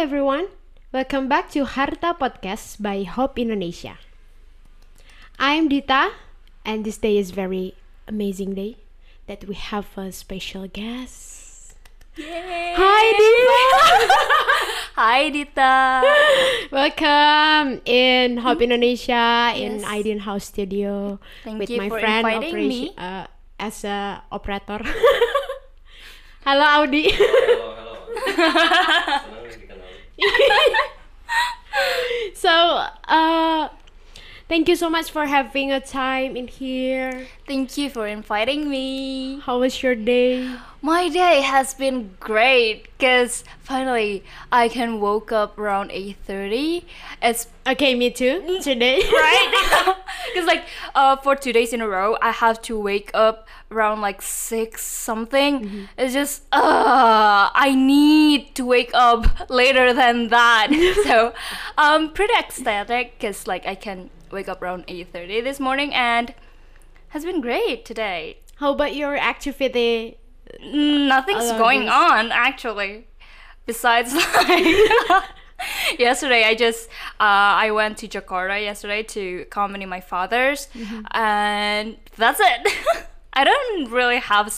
everyone, welcome back to Harta Podcast by Hope Indonesia. I'm Dita, and this day is very amazing day that we have a special guest. Yay! Hi Dita! Hi Dita! Welcome in Hope Indonesia in Yes. Idean House Studio Thank with you my for friend inviting me. As a operator. Halo Audi. Halo. Senang dikenal. So, thank you so much for having a time in here. Thank you for inviting me. How was your day? My day has been great because finally I can woke up around 8:30. It's Okay, me too. Today. right because for 2 days in a row I have to wake up around like 6 something. It's just I need to wake up later than that. So I'm pretty ecstatic because I can wake up around 8:30 this morning and has been great today. How about your activity? Nothing's Other going days? on actually besides yesterday I went to Jakarta yesterday to accompany my fathers, and that's it. I don't really have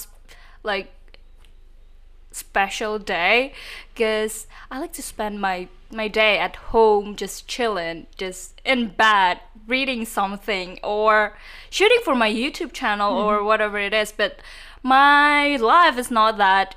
special day because I like to spend my day at home just chilling, just in bed reading something or shooting for my YouTube channel or whatever it is. But my life is not that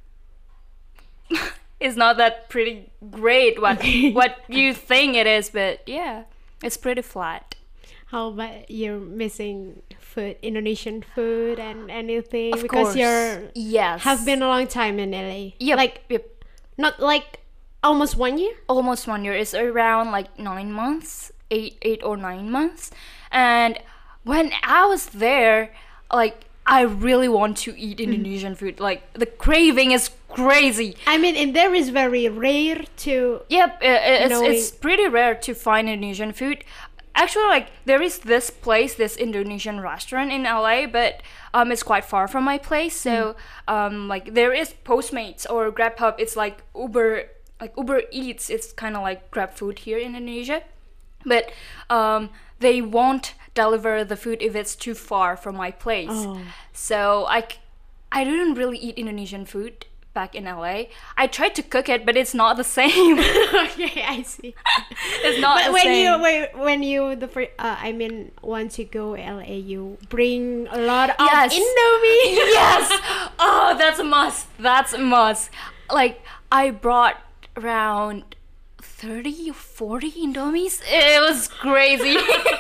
pretty great what you think it is, but yeah, it's pretty flat. How about you're missing food, Indonesian food and anything? Of because course. you're Yes. have been a long time in LA. Yep. Not like almost 1 year. Almost 1 year. It's around 9 months, 8 or 9 months. And when I was there, I really want to eat Indonesian food. The craving is crazy. I mean, and there is very rare to. Yep, Knowing- it's pretty rare to find Indonesian food. Actually, there is this this Indonesian restaurant in LA, but it's quite far from my place. So there is Postmates or Grubhub. It's like Uber Eats. It's kind of like Grab food here in Indonesia, but they won't deliver the food if it's too far from my place. Oh. So I didn't really eat Indonesian food back in LA. I tried to cook it, but it's not the same. Okay, I see. It's not But the when same. when you once you go LA, you bring a lot of Yes. Indomie. Yes. Oh, that's a must. That's a must. I brought around 30 or 40 Indomies. It was crazy.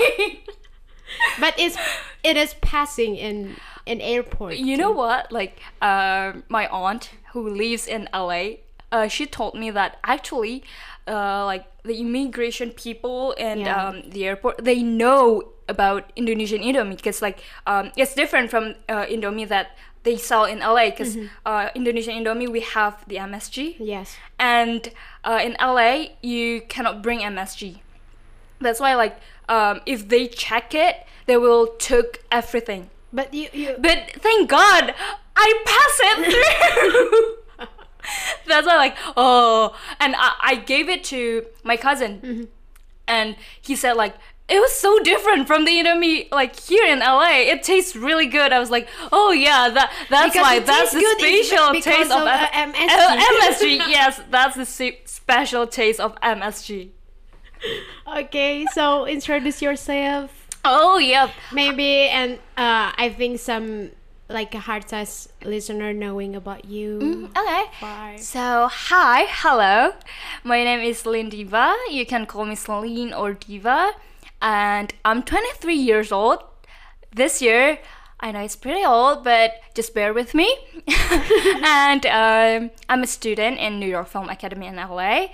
But it is passing in an airport. You know what? My aunt who lives in LA, she told me that actually, the immigration people and Yeah. the airport, they know about Indonesian Indomie because it's different from Indomie that they sell in LA because Indonesian Indomie we have the MSG, Yes. and in LA you cannot bring MSG. That's why if they check it, they will took everything. But you But thank God I pass it through. That's why and I gave it to my cousin, and he said it was so different from the Indomie here in LA. It tastes really good. I was like, oh yeah, that's Because why it that's tastes the good, it's special because taste of, of, MSG. MSG. Yes, that's the special taste of MSG. Okay, so introduce yourself. Oh yep. Maybe, and I think some a Hartas listener knowing about you. Okay. Bye. So, hello. My name is Lynn Diva. You can call me Celine or Diva. And I'm 23 years old. This year, I know it's pretty old, but just bear with me. And I'm a student in New York Film Academy in LA.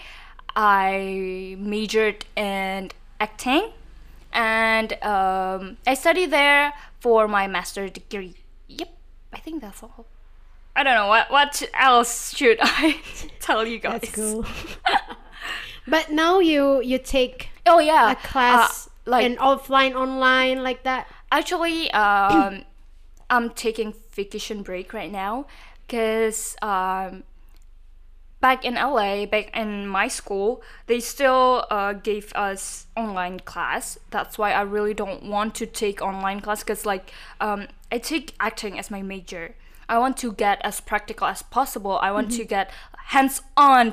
I majored in acting. And I studied there for my master's degree. Yep, I think that's all. I don't know what else should I tell you guys. That's cool. But now you take Oh yeah, a class in offline, online like that. actually, I'm taking vacation break right now because back in LA, back in my school, they still gave us online class. That's why I really don't want to take online class, because like I take acting as my major. I want to get as practical as possible. I want to get hands-on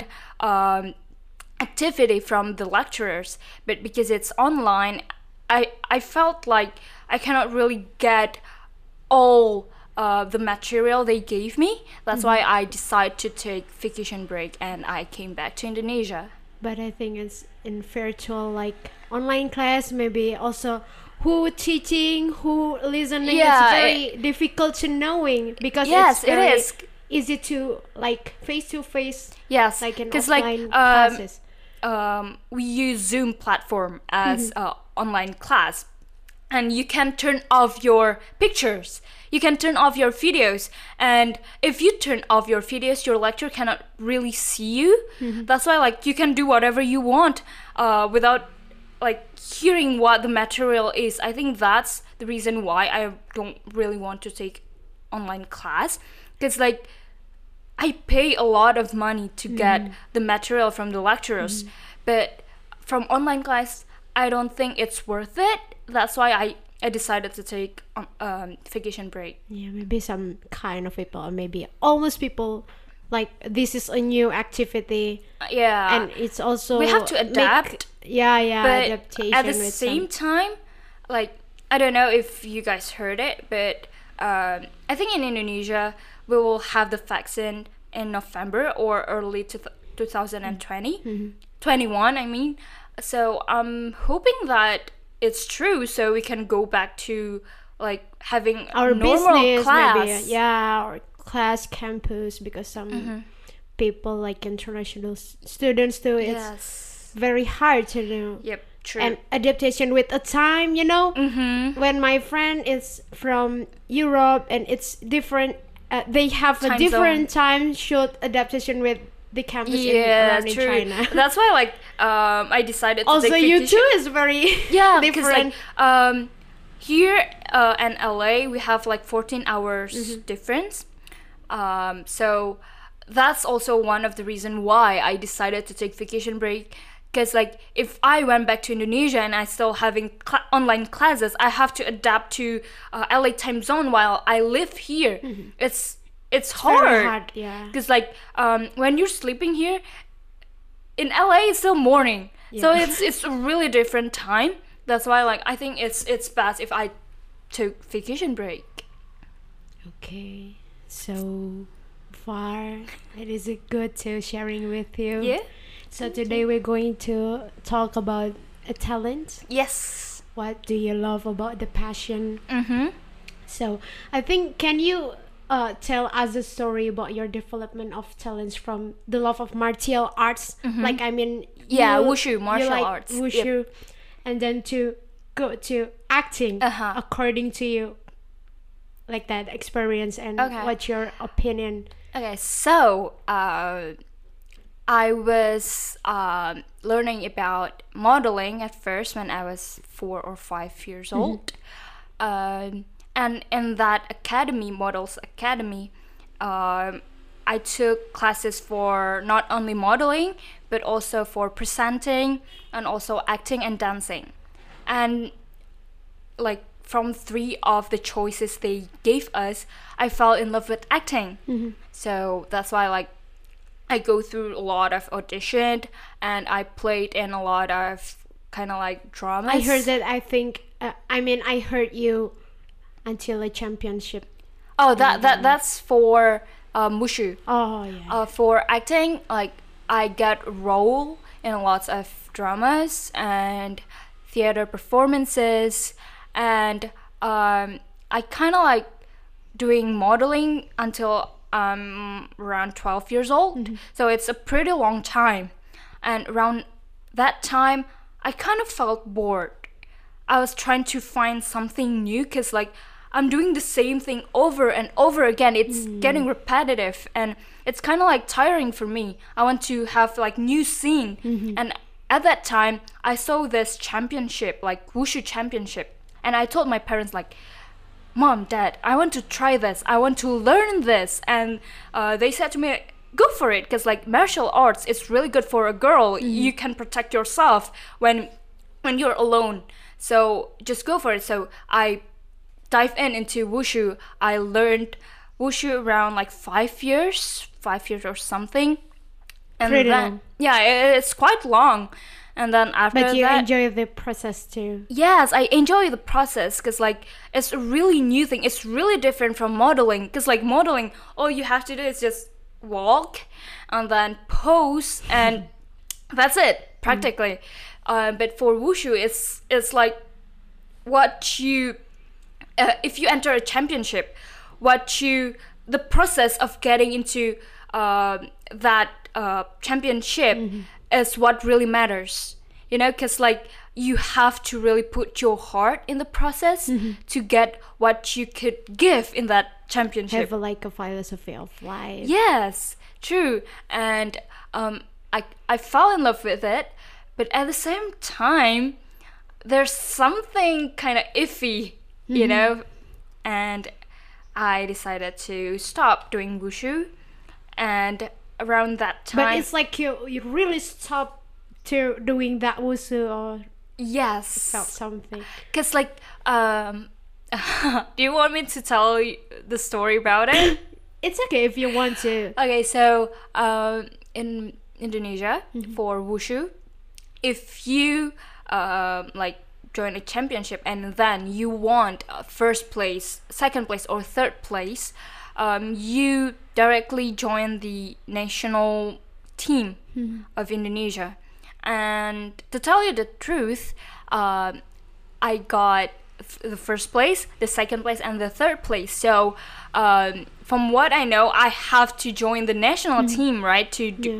activity from the lecturers. But because it's online, I felt like I cannot really get all the material they gave me. That's why I decided to take vacation break and I came back to Indonesia. But I think it's in virtual, like online class, maybe also who teaching, who listening. Yeah, it's very difficult to knowing, because Yes, it's very it is. easy to like face to face, Yes, like in because offline classes. we use Zoom platform as online class, and you can turn off your pictures, you can turn off your videos, and if you turn off your videos, your lecturer cannot really see you. That's why like you can do whatever you want without like hearing what the material is. I think that's the reason why I don't really want to take online class, because like I pay a lot of money to get the material from the lecturers, but from online class, I don't think it's worth it. That's why I decided to take vacation break. Yeah, maybe some kind of people, or maybe almost people, like this is a new activity, Yeah, and it's also we have to adapt. Yeah, But adaptation. at the with same time, like I don't know if you guys heard it, but I think in Indonesia we will have the vaccine in November or early 2020, 21 I mean. So I'm hoping that it's true, so we can go back to like having our normal business, class. maybe, yeah, or class campus, because some people like international students too. It's Yes. very hard to do. Yep. True. And adaptation with a time, you know. When my friend is from Europe and it's different, they have a Time different time shoot adaptation with the campus around in true. China. That's why like I decided to Also, take you vacation. too is very Yeah, because different. like here in LA we have like 14 hours difference. So that's also one of the reason why I decided to take vacation break. Because like if I went back to Indonesia and I still having online classes, I have to adapt to LA time zone while I live here. It's hard. very hard, yeah. Because like when you're sleeping here in LA, it's still morning. So Yeah. it's a really different time. That's why like I think it's best if I took vacation break. Okay, so far it is good to sharing with you. Yeah. So today we're going to talk about a talent. Yes. What do you love about the passion? Mm-hmm. So I think, can you tell us a story about your development of talents from the love of martial arts? Like, I mean, Yeah, you- wushu, you martial like arts. wushu, and then to go to acting, according to you, like that experience, and Okay. what's your opinion? Okay, so I was learning about modeling at first when I was 4 or 5 years old. And in that academy, Models Academy, I took classes for not only modeling, but also for presenting and also acting and dancing. And like from 3 of the choices they gave us, I fell in love with acting. So that's why like I go through a lot of audition and I played in a lot of kind of like dramas. I heard that. I think. I heard you until a championship. Oh, that's for wushu. Oh yeah. For acting, like I got role in lots of dramas and theater performances, and I kind of like doing modeling until around 12 years old. So it's a pretty long time, and around that time I kind of felt bored. I was trying to find something new, because like I'm doing the same thing over and over again. It's getting repetitive and it's kind of like tiring for me. I want to have like new scene. And at that time I saw this championship, like wushu championship, and I told my parents like, Mom, Dad, I want to try this. I want to learn this. And they said to me, go for it, because like martial arts is really good for a girl. You can protect yourself when you're alone, so just go for it. So I dive into wushu. I learned wushu around like 5 years or something, and Pretty then long. yeah, it's quite long. And then after But you that, enjoy the process too. yes, I enjoy the process, because like it's a really new thing. It's really different from modeling, because like modeling, all you have to do is just walk and then pose, and that's it practically. But for wushu, it's like what you if you enter a championship, the process of getting into that championship is what really matters, because like you have to really put your heart in the process to get what you could give in that championship. Have like a philosophy of life. Yes, true. And I fell in love with it, but at the same time there's something kind of iffy, and I decided to stop doing wushu. And around that time, But it's like you really stop to doing that wushu or yes, felt something. because like do you want me to tell you the story about it? It's okay if you want to. Okay, so in Indonesia, for wushu, if you like join a championship and then you want first place, second place, or third place, you directly join the national team of Indonesia. And to tell you the truth, I got the first place, the second place, and the third place. So from what I know, I have to join the national team, right, to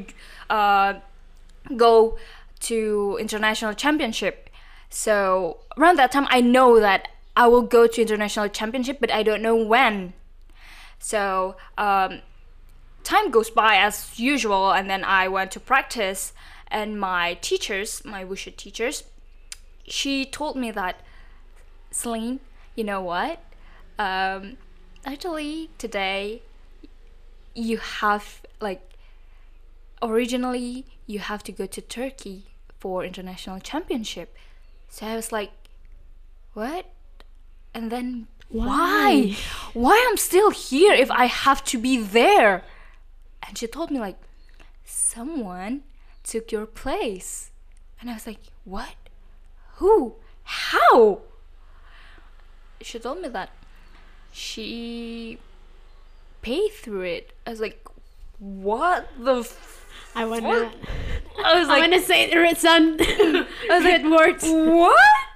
go to international championship. So around that time, I know that I will go to international championship, but I don't know when. So time goes by as usual, and then I went to practice, and my wushu teachers, she told me that, Celine, you know what? Actually, today you have originally you have to go to Turkey for international championship. So I was like, what? And then why? Why I'm still here if I have to be there? And she told me like, someone took your place. And I was like, what? Who? How? She told me that she paid through it. I was like, what the I wanna say it, son. I was like, words. What?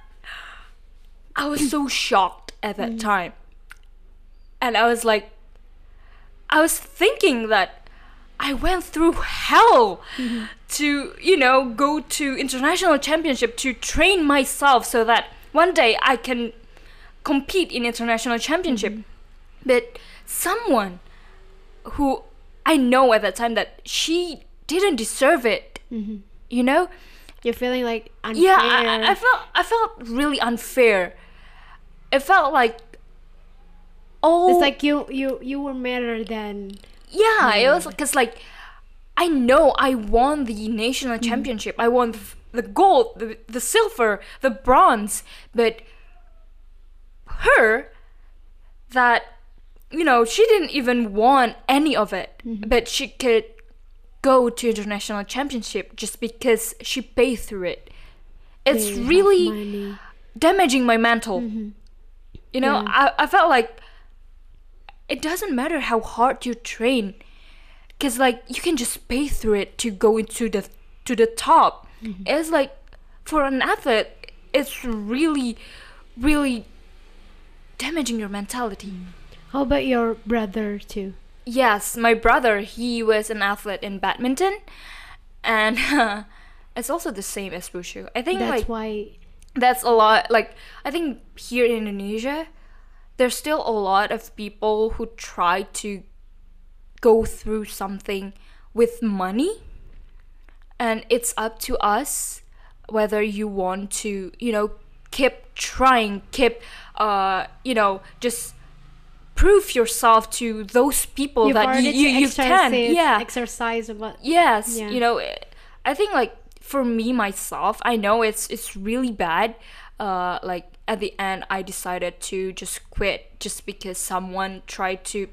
I was so shocked at that time. And I was like, I was thinking that I went through hell to, go to international championship to train myself so that one day I can compete in international championship. But someone who I know at that time that she didn't deserve it, You're feeling like unfair. Yeah, I felt really unfair. It felt like, It's like you were better than. Yeah, it was because like I know I won the national championship. I won the gold, the silver, the bronze, but her, that she didn't even want any of it, but she could go to international championship just because she paid through it. It's They have really money. damaging my mental. I felt like it doesn't matter how hard you train, because like you can just pay through it to go into the top. It's like for an athlete, it's really, really damaging your mentality. How about your brother too? Yes, my brother, he was an athlete in badminton, and it's also the same as wushu. I think That's why. that's a lot. Like, I think here in Indonesia, there's still a lot of people who try to go through something with money, and it's up to us whether you want to, keep trying, keep, just prove yourself to those people You've that already you can. Yeah. exercise about. Yes, Yeah. you know, I think like for me myself, I know it's really bad. Like at the end, I decided to just quit just because someone tried to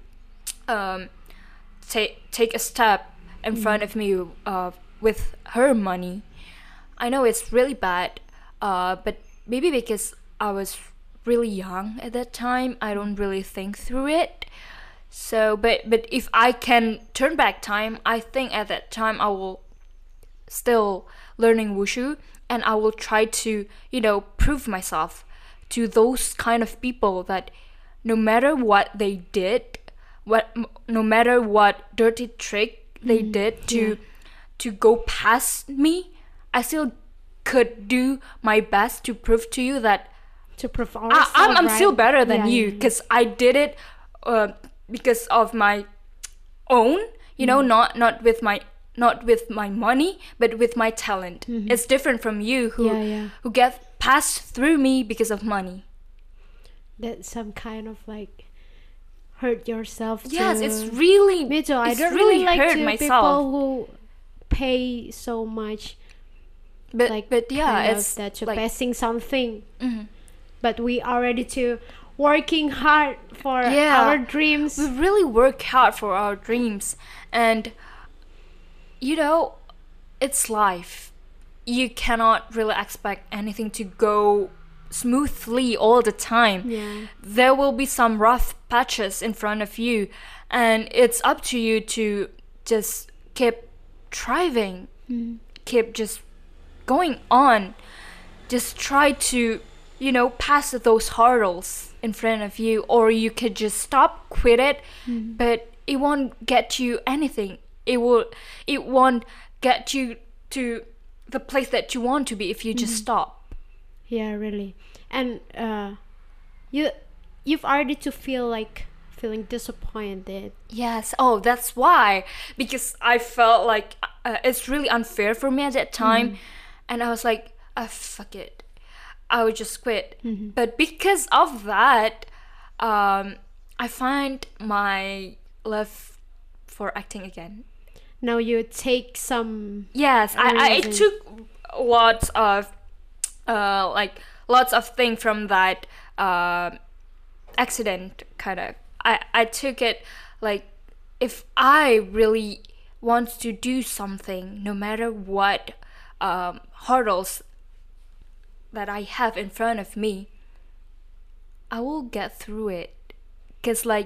take a step in front of me with her money. I know it's really bad, but maybe because I was really young at that time, I don't really think through it. So, but if I can turn back time, I think at that time I will still learning wushu, and I will try to, you know, prove myself to those kind of people that no matter what they did, no matter what dirty trick they did to go past me, I still could do my best to prove to you that To prove ourselves, I'm right? still better than Yeah, you, yeah. because I did it because of my own, you know, not with my money, but with my talent. It's different from you who get passed through me because of money. That some kind of like hurt yourself. Yes, to- it's really Me too. I it's don't really really like hurt to myself. people who pay so much, But like yeah, kind of it's that to like passing something. Mhm. But we are ready to working hard for Yeah. our dreams. we really work hard for our dreams, and you know, it's life. You cannot really expect anything to go smoothly all the time. Yeah. There will be some rough patches in front of you, and it's up to you to just keep striving, keep just going on, just try to, you know, pass those hurdles in front of you, or you could just stop, quit it, but it won't get you anything. It won't get you to the place that you want to be if you just stop. Yeah, really. And you've already to feel like feeling disappointed. Yes. Oh, that's why. Because I felt like it's really unfair for me at that time. And I was like, fuck it. I would just quit. But because of that, I find my love for acting again. Now you take some. Yes, I Amazing. took lots of lots of things from that accident, kind of. I took it like, if I really want to do something, no matter what hurdles that I have in front of me, I will get through it. Because like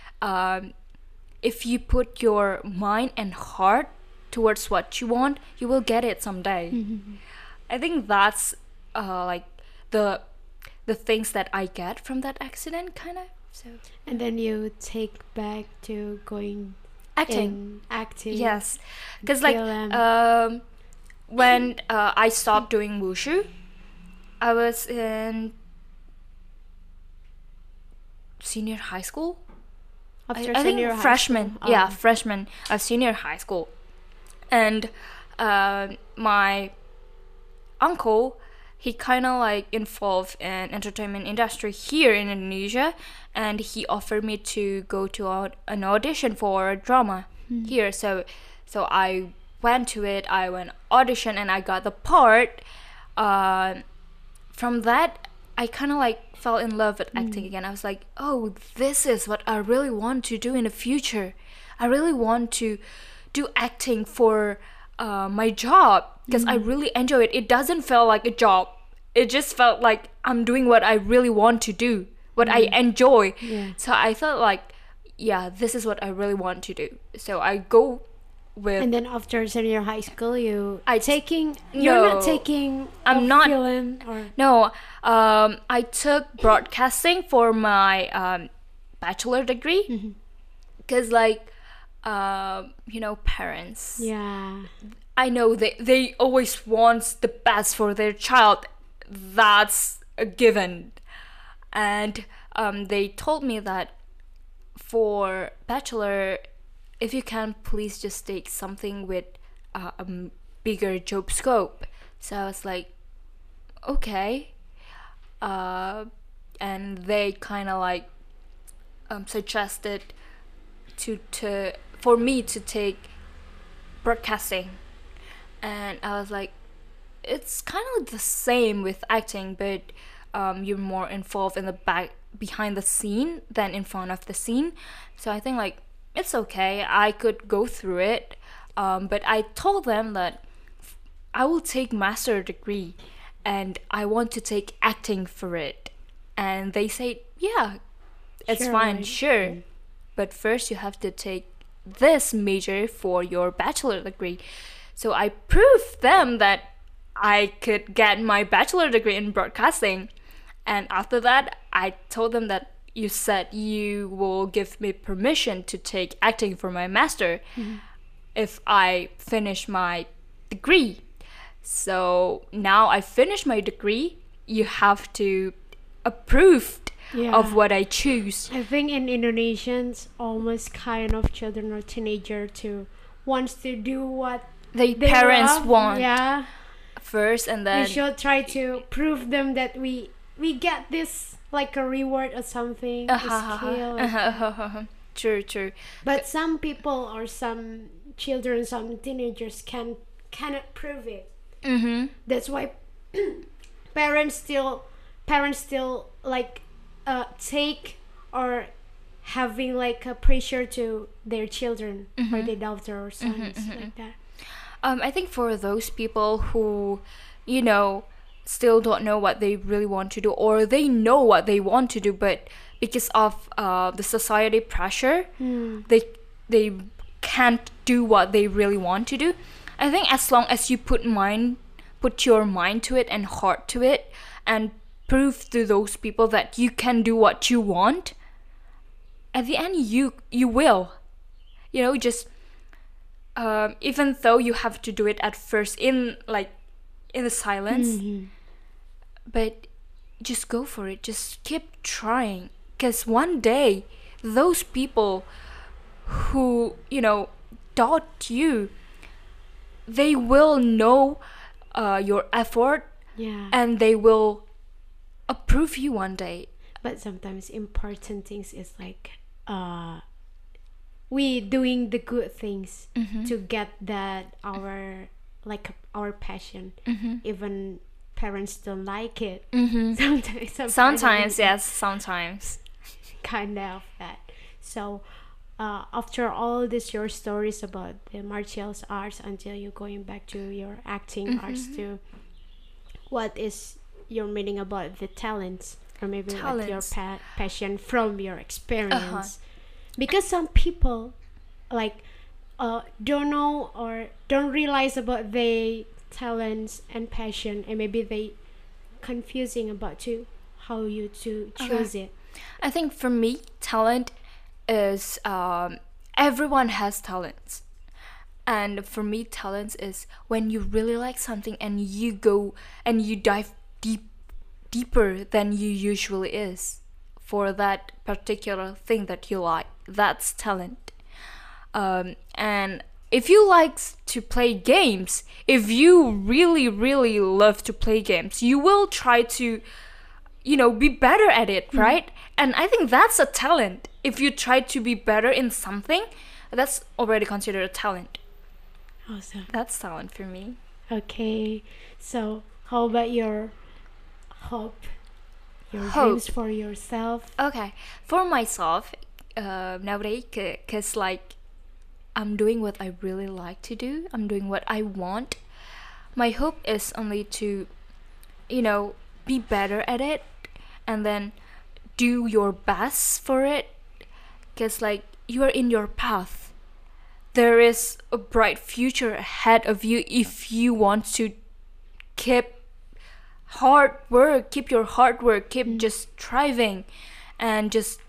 if you put your mind and heart towards what you want, you will get it someday. I think that's like the things that I get from that accident, kind of. So And then you take back to going acting. acting. Yes, because like film. when I stopped doing wushu, I was in senior high school. After I think senior high freshman. school. Yeah, Oh. freshman of senior high school, and my uncle, he kind of like involved in entertainment industry here in Indonesia, and he offered me to go to an audition for a drama here. So I went to it. I went audition and I got the part. From that, I kind of like fell in love with acting again. I was like, oh, this is what I really want to do in the future. I really want to do acting for my job, because I really enjoy it. It doesn't feel like a job. It just felt like I'm doing what I really want to do, what I enjoy. Yeah. So I felt like, yeah, this is what I really want to do. So I go with And then after senior high school, you're No. not taking. I'm a not- film or. No, I took broadcasting for my bachelor degree, because like you know, parents, Yeah. I know they always want the best for their child. That's a given. And they told me that for bachelor, if you can, please just take something with a bigger job scope. So I was like, okay. And they kind of like suggested to for me to take broadcasting, and I was like, it's kind of the same with acting, but you're more involved in the behind the scene than in front of the scene. So I think like it's okay, I could go through it, but I told them that I will take master degree and I want to take acting for it, and they said yeah, it's Sure, fine, right. sure, but first you have to take this major for your bachelor degree. So I proved them that I could get my bachelor degree in broadcasting. And after that, I told them that you said you will give me permission to take acting for my master if I finish my degree. So now I finished my degree. You have to approve Yeah. of what I choose. I think in Indonesians, almost kind of children or teenager to wants to do what The they parents love. want Yeah, first, and we then should try to prove them that we get this like a reward or something, a skill. true. But some people or some children, some teenagers cannot prove it. Mm-hmm. That's why parents still like take or having like a pressure to their children or their daughter or sons like that. I think for those people who, you know, still don't know what they really want to do, or they know what they want to do, but because of the society pressure, they can't do what they really want to do. I think as long as you put your mind to it and heart to it, and prove to those people that you can do what you want, at the end you will, you know, just even though you have to do it at first in the silence, but just go for it, just keep trying, because one day those people who, you know, doubt you, they will know your effort, Yeah. and they will approve you one day. But sometimes important things is like we doing the good things to get that our passion, even parents don't like it. Sometimes Yes, sometimes. kind of that. So after all this your stories about the martial arts until you going back to your acting arts too, what is your meaning about the talents, or maybe what your Talents. passion from your experience? Because some people like don't know or don't realize about their talents and passion, and maybe they confusing about to how you to choose it. I think for me, talent is everyone has talents. And for me, talents is when you really like something and you go and you dive deeper than you usually is for that particular thing that you like. That's talent. And if you like to play games, if you really, really love to play games, you will try to, you know, be better at it, right? And I think that's a talent. If you try to be better in something, that's already considered a talent. Awesome. That's talent for me. Okay, so how about your hope, your Hope. dreams for yourself? Okay, for myself, nowadays, cause like I'm doing what I really like to do. I'm doing what I want. My hope is only to, you know, be better at it, and then do your best for it. Cause like you are in your path. There is a bright future ahead of you if you want to keep keep your hard work, keep just striving, and just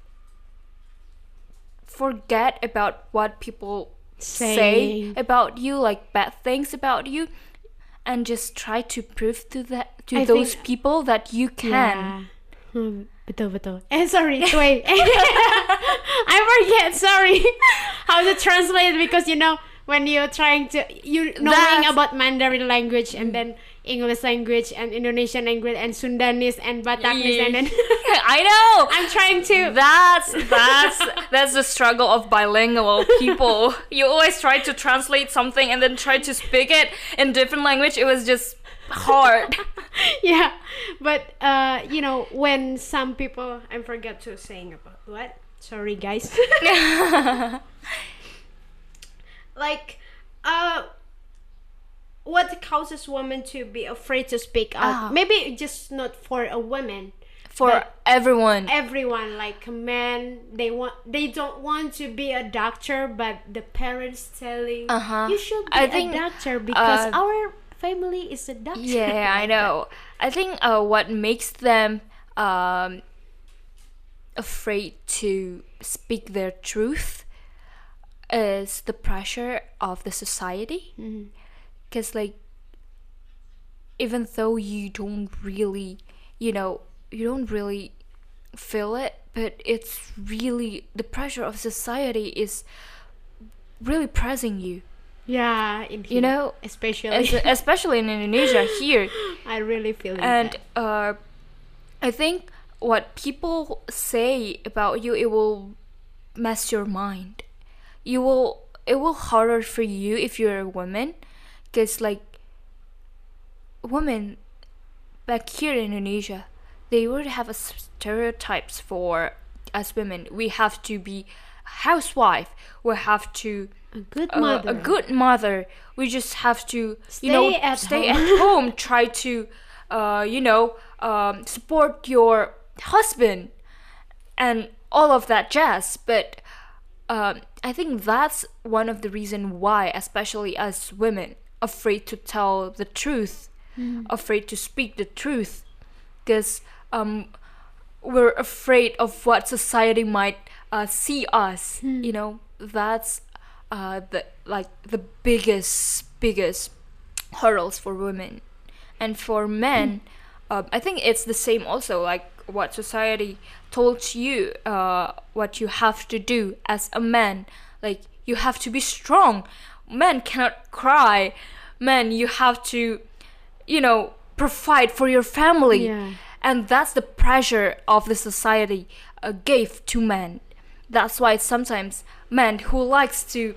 forget about what people say Saying. about you, like bad things about you, and just try to prove to I those think- people that you can. Yeah. Betul. Sorry, wait. I forget, sorry. How to translate, because you know when you're trying to knowing That's- about Mandarin language, and then English language and Indonesian language and Sundanese and Bataknese and then I know. I'm trying to. That's the struggle of bilingual people. You always try to translate something and then try to speak it in different language. It was just hard. Yeah, but you know, when some people, I forgot to saying about what. Sorry, guys. Like, what causes women to be afraid to speak out? Maybe just not for a woman, For but everyone. everyone. Like men, they don't want to be a doctor, but the parents telling you should be I a think, doctor because our family is a doctor. Yeah, I know. I think what makes them afraid to speak their truth is the pressure of the society. Because, like, even though you don't really, you don't really feel it, but it's really, the pressure of society is really pressing you. Yeah, in here, You know, especially especially in Indonesia here. I really feel And that. I think what people say about you, it will mess your mind. It will harder for you if you're a woman, because, like, women back here in Indonesia, they would have a stereotypes for us women. We have to be housewife. We have to A good mother. a good mother. We just have to, Stay at stay home. at home. Try to, support your husband and all of that jazz. But I think that's one of the reason why, especially as women, afraid to tell the truth, afraid to speak the truth, because we're afraid of what society might see us. That's the biggest hurdles for women. And for men, I think it's the same also, like what society told you, what you have to do as a man. Like, you have to be strong. Men cannot cry. Men, you have to, provide for your family. Yeah. And that's the pressure of the society gave to men. That's why sometimes men who likes to,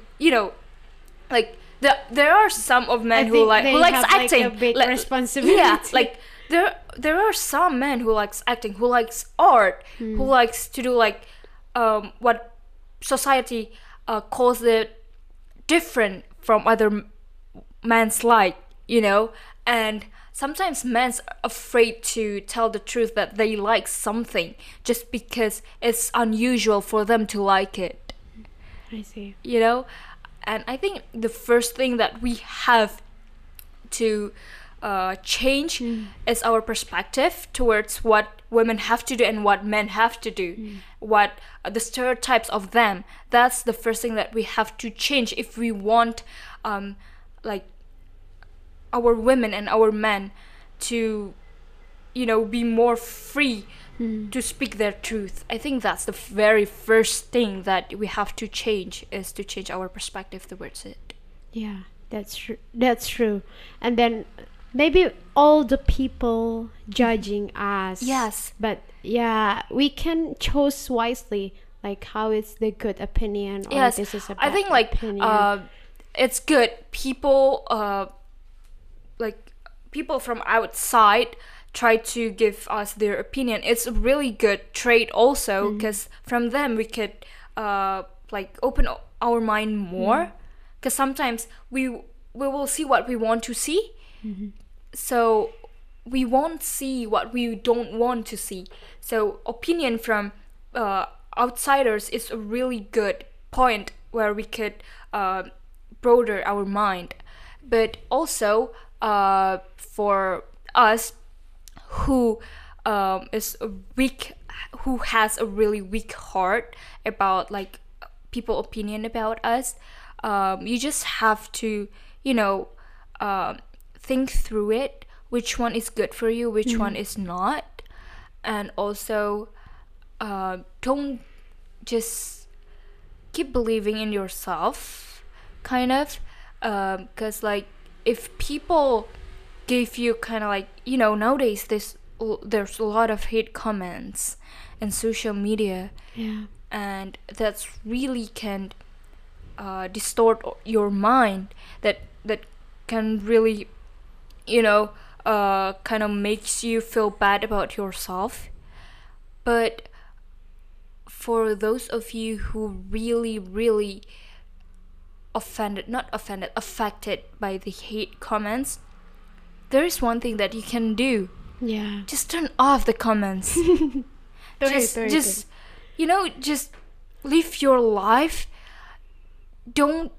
there are some of men I who think like they who likes have, like, acting. a big Like, responsibility. Yeah, like there are some men who likes acting, who likes art, who likes to do what society calls it different from other men's and sometimes men's afraid to tell the truth that they like something just because it's unusual for them to like it. I see. And I think the first thing that we have to change is our perspective towards what women have to do and what men have to do, what the stereotypes of them. That's the first thing that we have to change if we want our women and our men to be more free to speak their truth. I think that's the very first thing that we have to change, is to change our perspective towards it. Yeah, that's true. That's true. And then maybe all the people judging us. Yes. But yeah, we can choose wisely, like how is the good opinion or Yes, this is a I bad think opinion. it's good. People from outside try to give us their opinion. It's a really good trait also, because from them we could open our mind more. Because sometimes we will see what we want to see, so we won't see what we don't want to see. So opinion from outsiders is a really good point where we could broaden our mind. But also for us who who has a really weak heart about people opinion about us, you just have to think through it, which one is good for you, which one is not. And also don't just keep believing in yourself, kind of, because if people give you kind of like, nowadays there's a lot of hate comments in social media, Yeah. and that's really can distort your mind, that can really kind of makes you feel bad about yourself. But for those of you who really affected by the hate comments, there is one thing that you can do. Yeah. Just turn off the comments. Just live your life. Don't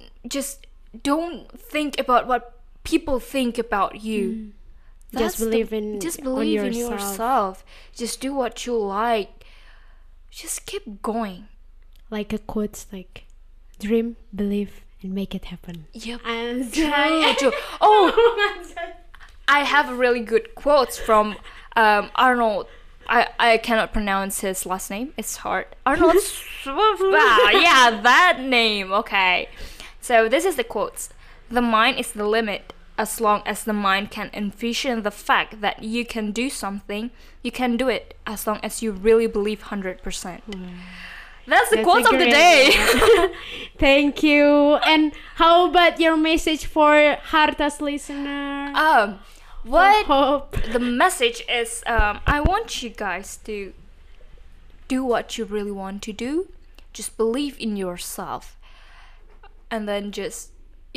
think about what people think about you. Just believe in yourself. Just do what you like. Just keep going. Like a quote, like dream, believe, and make it happen. Yep. And True. Oh, I have really good quotes from Arnold. I cannot pronounce his last name. It's hard. Arnold Schwarzenegger. Yeah, that name. Okay. So this is the quotes. The mind is the limit. As long as the mind can envision the fact that you can do something, you can do it, as long as you really believe 100%. That's the quote of the day. Thank you. And how about your message for Harta's listener? What the message is, I want you guys to do what you really want to do. Just believe in yourself. And then just,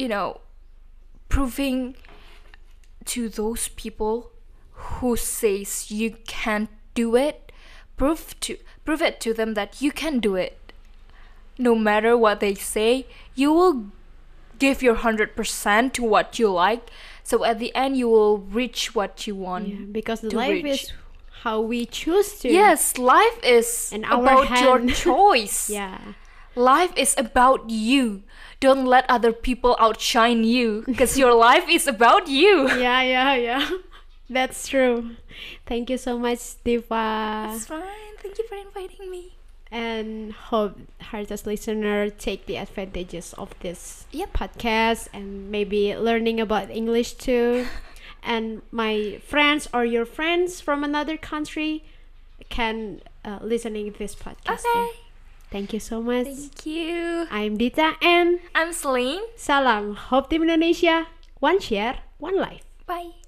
proving to those people who says you can't do it, prove it to them that you can do it. No matter what they say, you will give your 100% to what you like. So at the end, you will reach what you want. Yeah, because to life reach. is how we choose to. Yes, life is In our about your hand. choice. Yeah. Life is about you. Don't let other people outshine you, because your life is about you. Yeah. That's true. Thank you so much, Diva. That's fine. Thank you for inviting me. And hope Harta's listener take the advantages of this Yep. podcast and maybe learning about English too. And my friends or your friends from another country can listening to this podcast. Okay. too. Thank you so much. Thank you. I'm Dita and I'm Celine. salam Hope Team Indonesia. One share, one life. Bye.